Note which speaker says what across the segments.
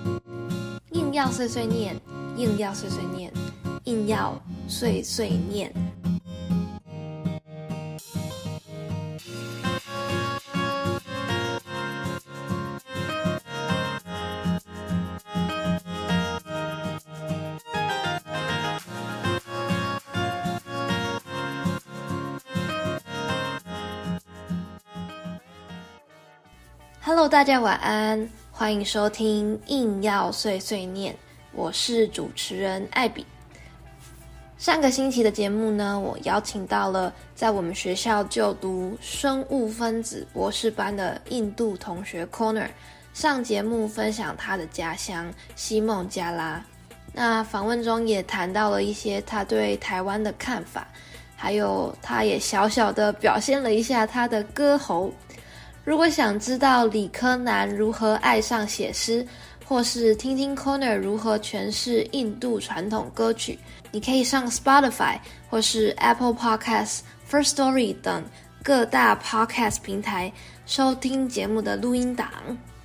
Speaker 1: 硬要碎碎念，硬要碎碎念，硬要碎碎念。Hello， 大家晚安，歡迎收聽硬要碎碎念，我是主持人艾比。上個星期的節目呢，我邀請到了在我們學校就讀生物分子博士班的印度同學 Corner 上節目分享他的家鄉西孟加拉。那訪問中也談到了一些他對台灣的看法，還有他也小小的表現了一下他的歌喉。如果想知道理科男如何愛上寫詩，或是聽聽 Corner 如何詮釋印度傳統歌曲，你可以上 Spotify 或是 Apple Podcasts、First Story 等各大 Podcast 平台收聽節目的錄音檔。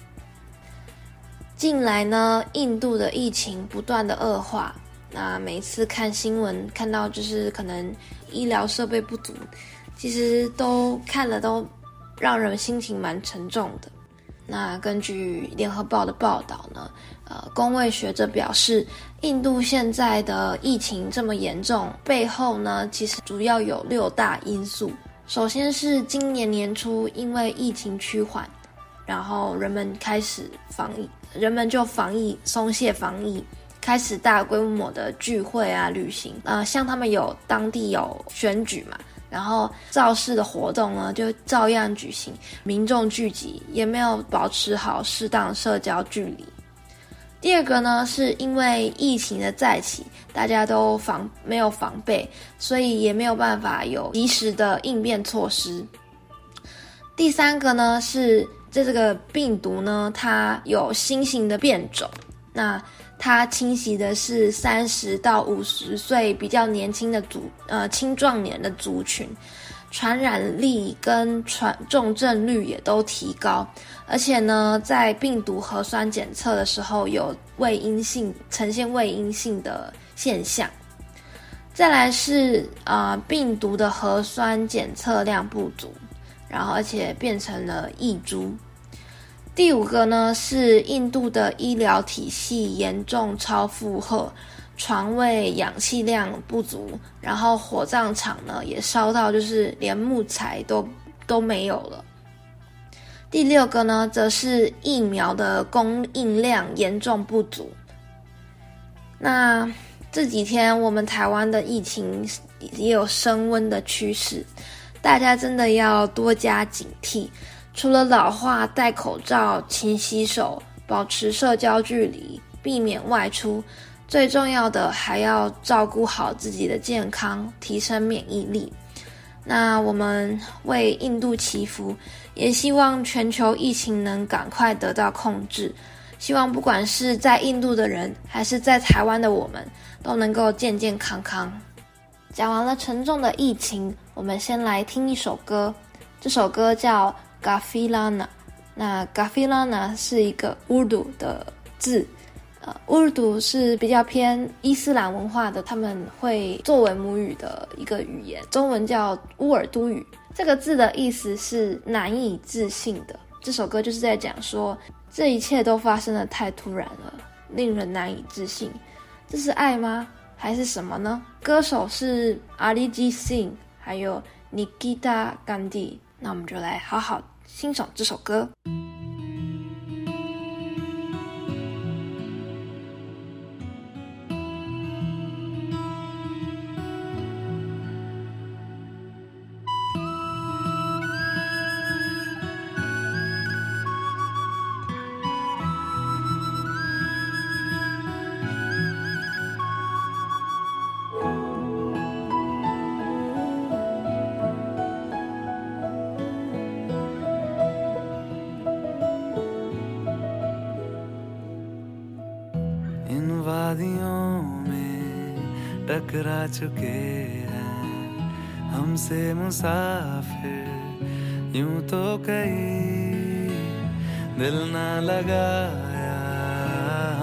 Speaker 1: 近來呢，印度的疫情不斷的惡化，那每一次看新聞看到就是可能醫療設備不足，其實都看了都讓人心情蠻沉重的。那根據聯合報的報道呢，公衛學者表示，印度現在的疫情這麼嚴重，背後呢其實主要有6大因素。首先是今年年初因為疫情趨緩，然後人們就防疫鬆懈防疫，開始大規模的聚會啊旅行。像他們當地有選舉嘛，然後造勢的活動呢就照樣舉行，民眾聚集也沒有保持好適當社交距離。第二個呢，是因為疫情的再起，大家都沒有防備，所以也沒有辦法有及時的應變措施。第三個呢，是这個病毒呢，它有新型的變種，那它侵襲的是30到50歲比較年輕的青壯年的族群，傳染力跟重症率也都提高，而且呢，在病毒核酸檢測的時候有呈現偽陰性的現象。再來是病毒的核酸檢測量不足，然後而且變成了異株。第5個呢，是印度的醫療體系嚴重超負荷，床位氧氣量不足，然後火葬場呢也燒到就是連木材都沒有了。第6個呢，則是疫苗的供應量嚴重不足。那這幾天我們台灣的疫情也有升溫的趨勢，大家真的要多加警惕。除了老化、戴口罩、勤洗手、保持社交距離、避免外出，最重要的還要照顧好自己的健康，提升免疫力。那我們為印度祈福，也希望全球疫情能趕快得到控制。希望不管是在印度的人，還是在台灣的我們，都能夠健健康康。講完了沉重的疫情，我們先來聽一首歌。這首歌叫Gafilana， 那 Gafilana 是一個 Urdu 的字，Urdu 是比較偏伊斯蘭文化的，他們會作為母語的一個語言，中文叫烏爾都語。這個字的意思是難以置信的。這首歌就是在講說，這一切都發生得太突然了，令人難以置信。這是愛嗎？還是什麼呢？歌手是 Arijit Singh 還有 Nikita Gandhi。那我們就來好好欣賞這首歌。
Speaker 2: वादियों में टकरा चुके हैं हमसे मुसाफिर यूं तो कहीं दिल ना लगाया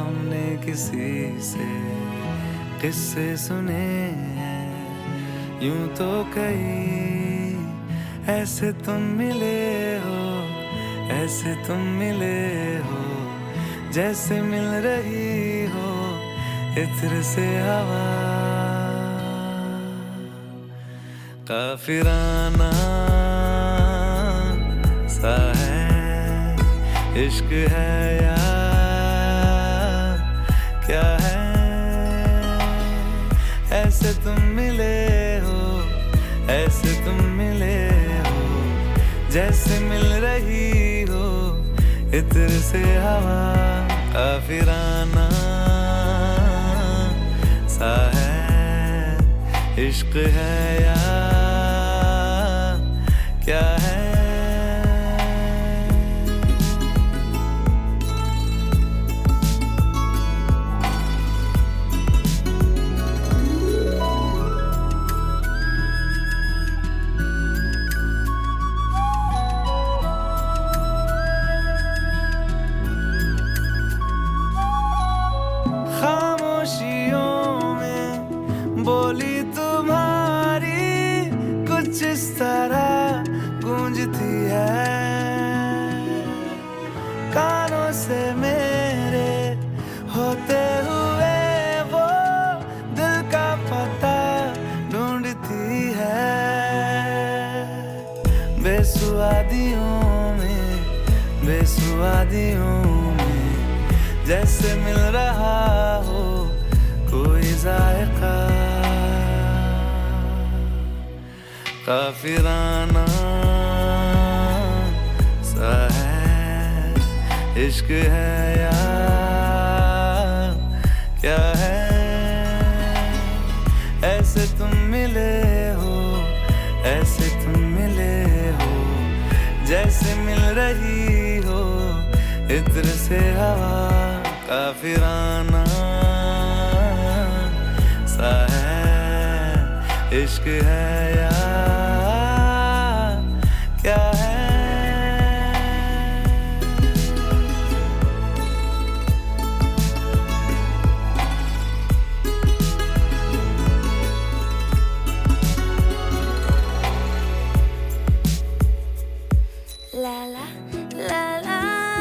Speaker 2: किसी से किस्से सुने हैं यूं तो कई ऐसे तुम मिले हो ऐसे तुम मिले हो जैसे मिल रही हो इत्र से हवा काफिराना सा है इश्क है या क्या है ऐसे तुम मिले हो ऐसे तुम मिले हो जैसे मिल रही हो इत्र से हवा काफिराना सा है इश्क है या क्या है बोली तुम्हारी कुछ इस तरह गूंजती है कानों से मेरे होते हुए वो दिल का पता ढूंढती है बेसुआदियों में जैसे मिल रहा हो कोई जायका काफिराना सा है इश्क है या क्या है ऐसे तुम मिले हो ऐसे तुम मिले हो जैसे मिल रही हो इत्र से हवा काफिराना सा है इश्क है या क्या है
Speaker 1: ला ला ला ला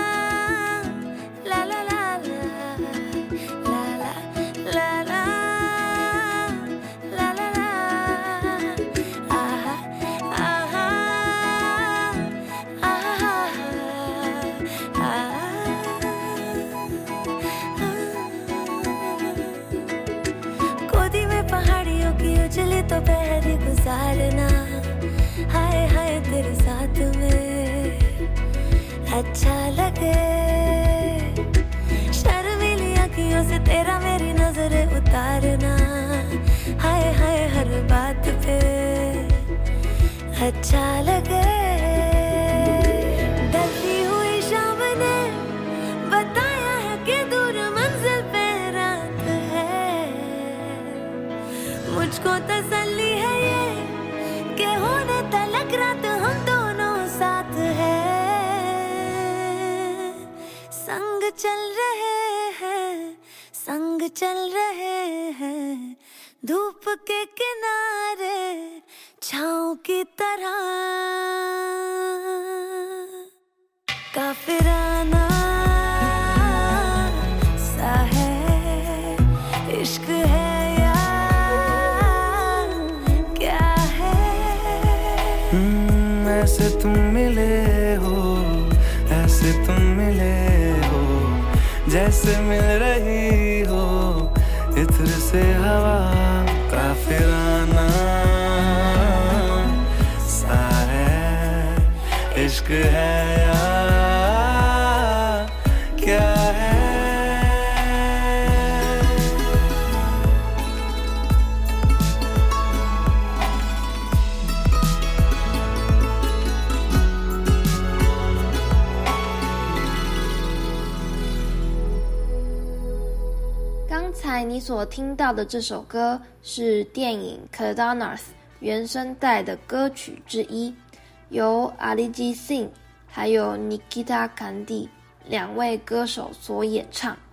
Speaker 1: ला ला ला ला ला ला ला ला आहा आहा आहा गोदी में पहाड़ियों की उजली तो पहरी गुजारना हाय हाय तेरे साथ में अच्छा लगे शर्मीली आँखियों से तेरा मेरी नजरें उतारना हाय हाय हर बात पे अच्छा लगे ढलती हुई शाम ने बताया है कि दूर मंजिल पे रात है मुझको तसल्ली है ये कि होने तलक रात हम दोनों साथ है संग चल रहे हैं धूप के किनारे छाँव की तरह काफिराना सा है इश्क है या क्या है
Speaker 2: ऐसे तुम मिले हो ऐसे तुम मिले हो जैसे मिल रही हो इत्र से हवा काफिराना सा है इश्क है या क्या है
Speaker 1: 刚才你所听到的这首歌是電影《Kedarnath》原聲帶的歌曲之一，由 Arijit Singh 還有 Nikita Kandhi 兩位歌手所演唱。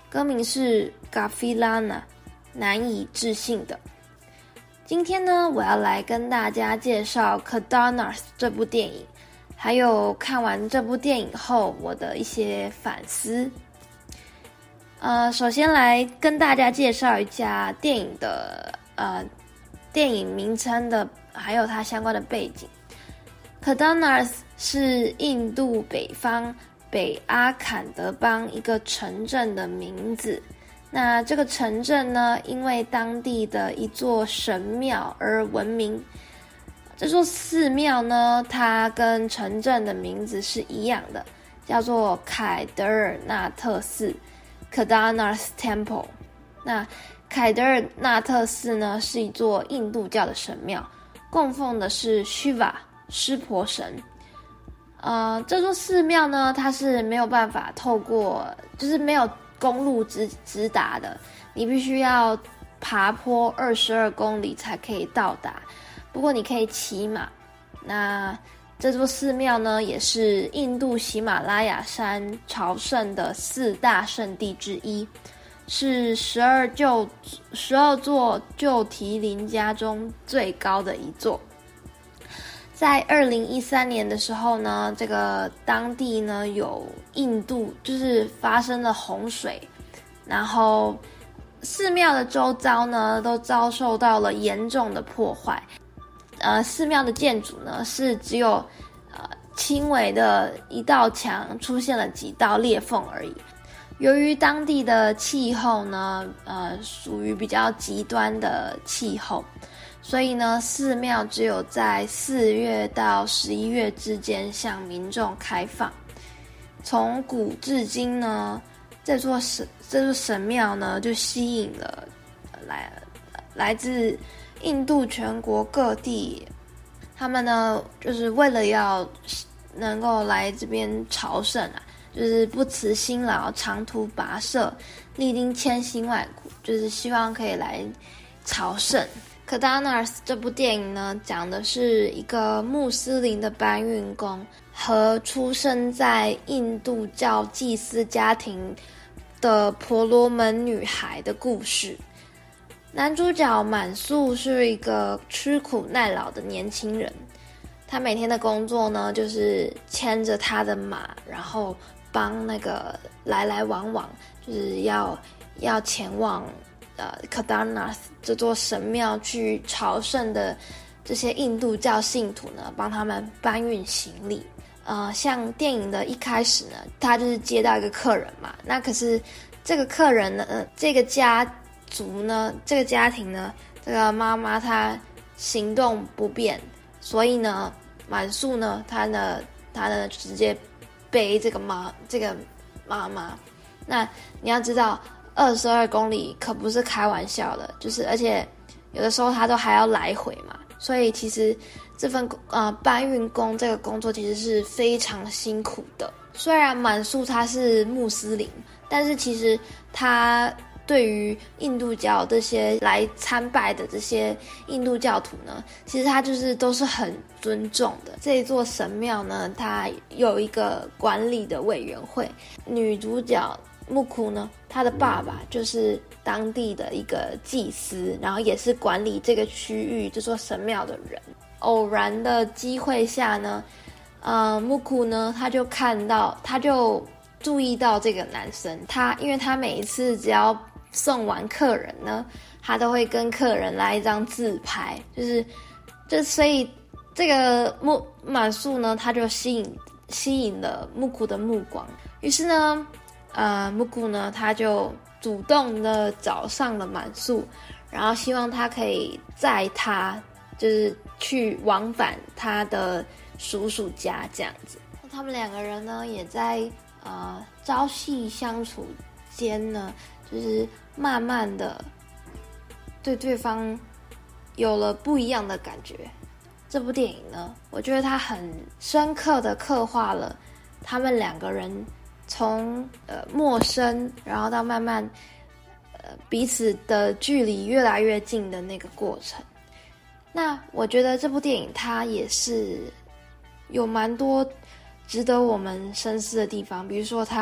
Speaker 1: 歌名是 Gavilana， 難以置信的。今天呢，我要來跟大家介紹《Cadaranas》這部電影，還有看完這部電影後我的一些反思。首先來跟大家介紹一下電影的電影名稱的，還有它相關的背景。Cadaranas 是印度北方北阿坎德邦一個城鎮的名字。那這個城鎮呢，因為當地的一座神廟而聞名。這座寺廟呢，它跟城鎮的名字是一樣的，叫做凱德爾納特寺 （Cadaranas Temple）。那凱德爾納特寺呢，是一座印度教的神廟，供奉的是 Shiva 濕婆神。這座寺廟呢，它是沒有辦法透過，就是沒有公路直達的，你必須要爬坡22公里才可以到達。不過你可以騎馬。那這座寺廟呢，也是印度喜馬拉雅山朝聖的4大聖地之一，是12座舊提林家中最高的一座。在2013年的時候呢，這個當地呢有印度就是發生了洪水，然後寺廟的周遭呢都遭受到了嚴重的破壞。寺廟的建築呢是只有輕微的一道牆出現了幾道裂縫而已。由於當地的氣候呢屬於比較極端的氣候，所以呢，寺廟只有在4月到11月之間向民眾開放。從古至今呢，這座神廟呢，就吸引了來自印度全國各地，他們呢，就是為了要能夠來這邊朝聖啊，就是不辭辛勞，長途跋涉，歷經千辛萬苦，就是希望可以來朝聖。Cadaranas 這部電影呢，講的是一個穆斯林的搬運工和出生在印度教祭司家庭的婆羅門女孩的故事。男主角滿素是一個吃苦耐勞的年輕人，他每天的工作呢，就是牽着他的馬，然後幫那個來來往往，就是要前往Cadaranas 這座神廟去朝聖的這些印度教信徒呢，幫他們搬運行李。像電影的一開始呢，他就是接到一個客人嘛，那可是這個客人呢，這個家族呢，這個家庭呢，這個媽媽她行動不便，所以呢，滿素呢，他呢直接背這個媽媽。那你要知道，22公里可不是開玩笑的，就是而且有的時候他都還要來回嘛，所以其實這份搬運工這個工作其實是非常辛苦的。雖然滿素他是穆斯林，但是其實他對於印度教這些來參拜的這些印度教徒呢，其實他就是都是很尊重的。這一座神廟呢，它有一個管理的委員會，女主角木庫呢，他的爸爸就是當地的一個祭司，然後也是管理這個區域這座神廟的人。偶然的機會下呢，木庫呢，他就注意到這個男生，因為他每一次只要送完客人呢，他都会跟客人来一張自拍，所以這個滿素呢，他就吸引了木庫的目光。於是呢，木庫呢，他就主動的找上了滿素，然後希望他可以載他，就是去往返他的叔叔家這樣子。他們兩個人呢，也在朝夕相處間呢，就是慢慢的對對方有了不一樣的感覺。這部電影呢，我覺得它很深刻的刻畫了他們兩個人從陌生，然後到慢慢彼此的距離越來越近的那個過程。那我覺得這部電影它也是有蠻多值得我們深思的地方，比如說它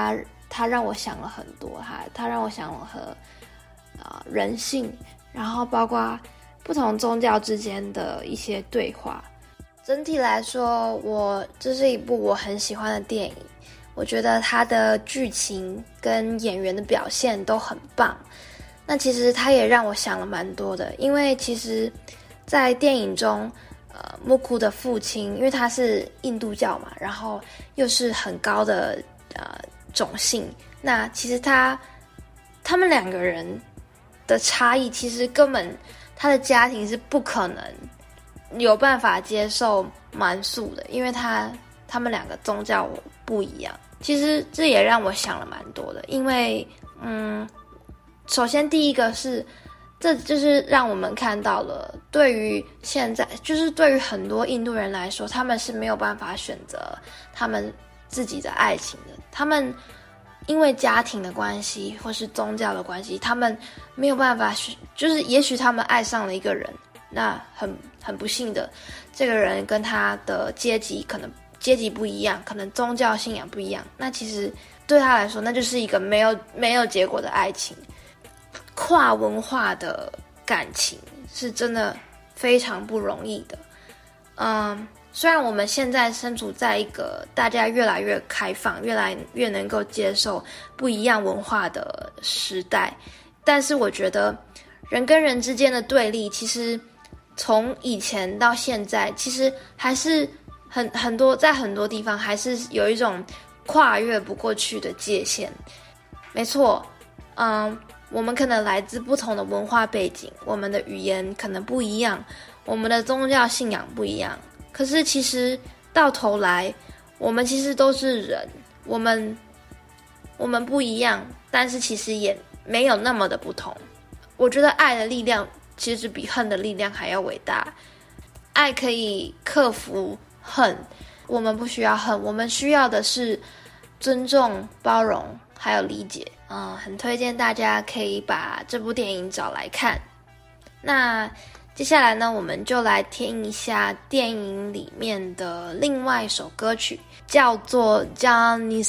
Speaker 1: 他讓我想了很多，他讓我想了人性，然後包括不同宗教之間的一些对话。整體來說，這是一部我很喜歡的電影。我覺得它的劇情跟演員的表現都很棒。那其實它也讓我想了蠻多的，因為其實在電影中，木庫的父親，因為他是印度教嘛，然後又是很高的種姓，那其實他們2個人的差異，其實根本他的家庭是不可能有辦法接受蠻素的，因為他們2個宗教不一樣。其實這也讓我想了蠻多的，因為首先第一個是，這就是讓我們看到了，對於現在，就是對於很多印度人來說，他們是沒有辦法選擇他們自己的愛情的。他們因為家庭的關係或是宗教的關係，他們沒有辦法就是也許他們愛上了一個人，那很不幸的，這個人跟他的階級不一樣，可能宗教信仰不一樣，那其實對他來說，那就是一個沒有結果的愛情。跨文化的感情是真的非常不容易的。雖然我們現在身處在一個大家越來越開放，越來越能夠接受不一樣文化的時代，但是我覺得人跟人之間的对立，其實從以前到現在，其實還是很多，在很多地方還是有一種跨越不過去的界限。沒錯，我們可能來自不同的文化背景，我們的語言可能不一樣，我們的宗教信仰不一樣。可是其實到頭來，我們其實都是人，我們不一樣，但是其實也沒有那麼的不同。我覺得愛的力量其實比恨的力量還要偉大。愛可以克服恨，我們不需要恨，我們需要的是尊重、包容還有理解。很推薦大家可以把這部電影找來看。那接下來呢，我們就來聽一下電影裡面的另外一首歌曲，叫做《Janisa》。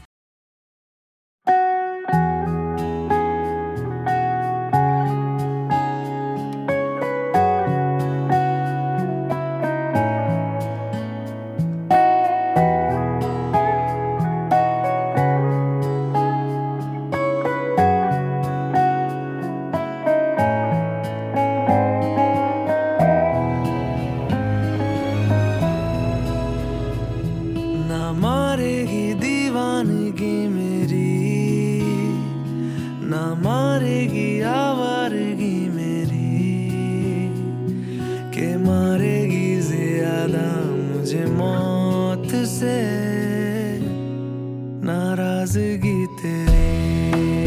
Speaker 2: नाराजगी तेरी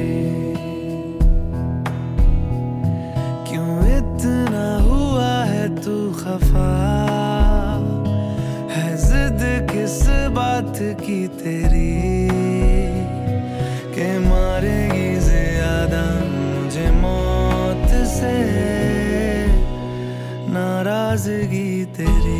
Speaker 2: क्यों इतना हुआ है तू खफा है जिद किस बात की तेरी के मारेगी ज्यादा मुझे मौत से नाराजगी तेरी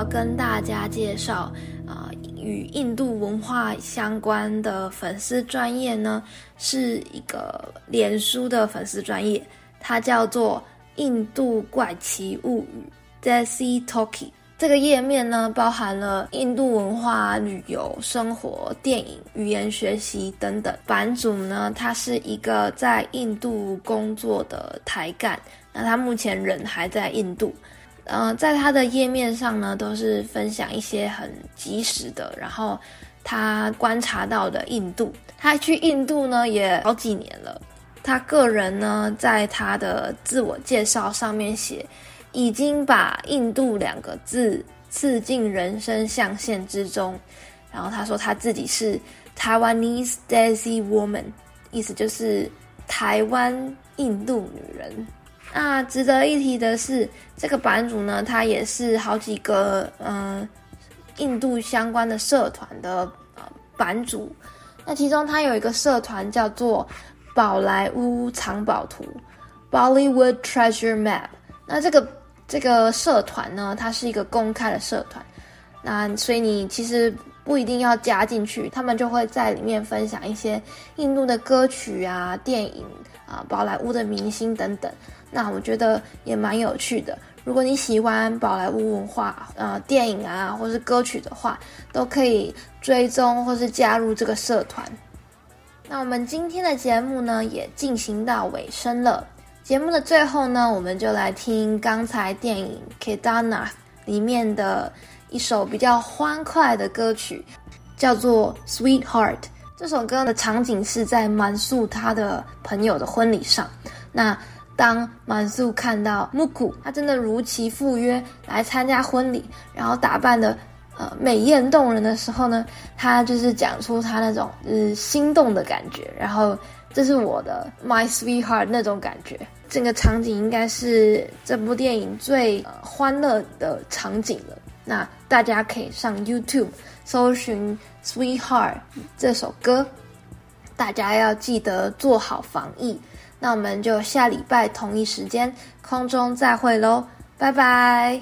Speaker 1: 跟大家介紹與印度文化相關的粉絲專頁呢，是一個臉書的粉絲專頁，它叫做印度怪奇物語 Desi Talkie。這個頁面呢，包含了印度文化、旅遊、生活、電影、語言學習等等。版主呢，他是一個在印度工作的台幹，那他目前人還在印度。在他的頁面上呢，都是分享一些很及時的，然後他觀察到的印度。他去印度呢也好幾年了。他個人呢，在他的自我介紹上面寫，已經把印度兩個字刺進人生象限之中。然後他說他自己是 Taiwanese Desi Woman， 意思就是台灣印度女人。那值得一提的是，這個版主呢，他也是好幾個印度相關的社團的版主。那其中他有一個社團叫做寶萊塢藏寶圖 Bollywood Treasure Map。那這個社團呢，它是一個公開的社团，那所以你其實不一定要加進去，他們就會在裡面分享一些印度的歌曲啊、電影啊、寶萊塢的明星等等。那我覺得也蠻有趣的。如果你喜歡寶萊塢文化、電影啊，或是歌曲的話，都可以追蹤或是加入這個社團。那我們今天的節目呢，也進行到尾聲了。節目的最後呢，我們就來聽剛才電影《Kedarnath》裡面的一首比較歡快的歌曲，叫做《Sweetheart》。這首歌的場景是在滿素他的朋友的婚禮上。那當滿素看到木庫，他真的如期赴約來參加婚禮，然後打扮的美豔動人的時候呢，他就是講出他那種心動的感覺，然後這是我的 My Sweetheart 那種感覺。整個場景應該是這部電影最歡樂的場景了。那大家可以上 YouTube 搜尋 Sweetheart 這首歌，大家要記得做好防疫。那我們就下禮拜同一時間空中再會咯，拜拜。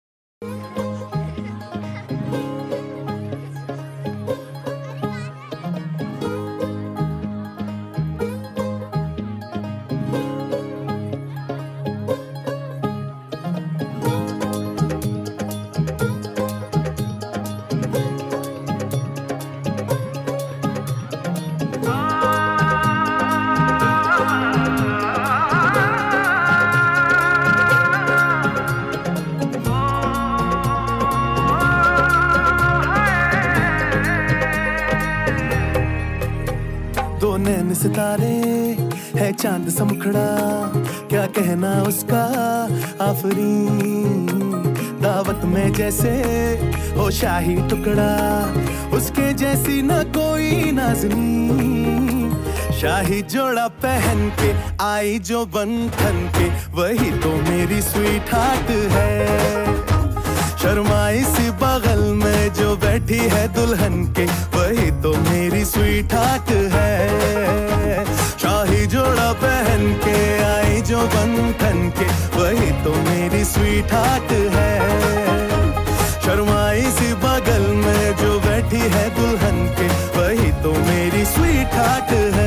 Speaker 2: सितारे है चांद सा मुखड़ा, क्या कहना उसका आफरी, दावत में जैसे हो शाही टुकड़ा, उसके जैसी न कोई नाज़नी, शाही जोड़ा पहन के आई जो बंधन के, वही तो मेरी स्वीट हार्ट है। शर्माई सी बगल में जो बैठी है दुल्हन के, वही तो मेरी स्वीट हार्ट है। शाही जोड़ा पहन के आई जो बंधन के, वही तो मेरी स्वीट हार्ट है। शर्माई सी बगल में जो बैठी है दुल्हन के, वही तो मेरी स्वीट हार्ट है।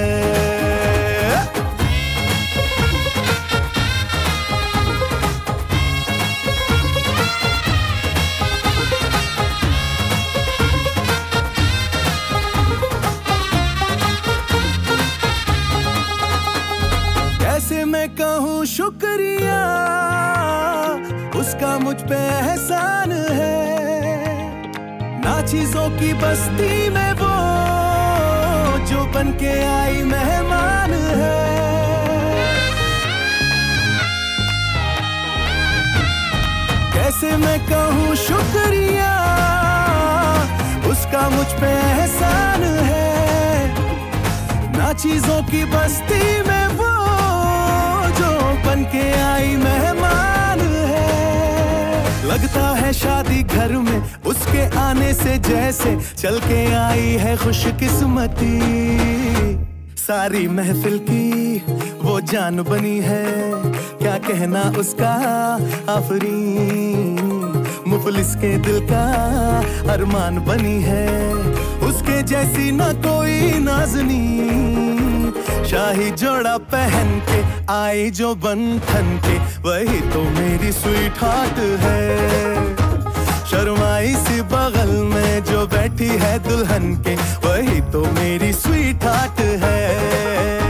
Speaker 2: मैं कहूँ शुक्रिया, उसका मुझ पे एहसान है। ना चीजों की बस्ती में वो जो बन के आई मेहमान है। कैसे मैं कहूँ शुक्रिया, उसका मुझ पे एहसान है। ना चीजों की बस्ती में वो बन के आई मेहमान है। लगता है शादी घर में उसके आने से जैसे चल के आई है खुशकिस्मती। सारी महफिल की वो जान बनी है, क्या कहना उसका आफरीन। मुफलिस के दिल का अरमान बनी है, उसके जैसी ना कोई नाज़नी। शाही जोड़ा पहन के आई जो बंधन के, वही तो मेरी स्वीट हार्ट है। शर्माई सी बगल में जो बैठी है दुल्हन के, वही तो मेरी स्वीट हार्ट है।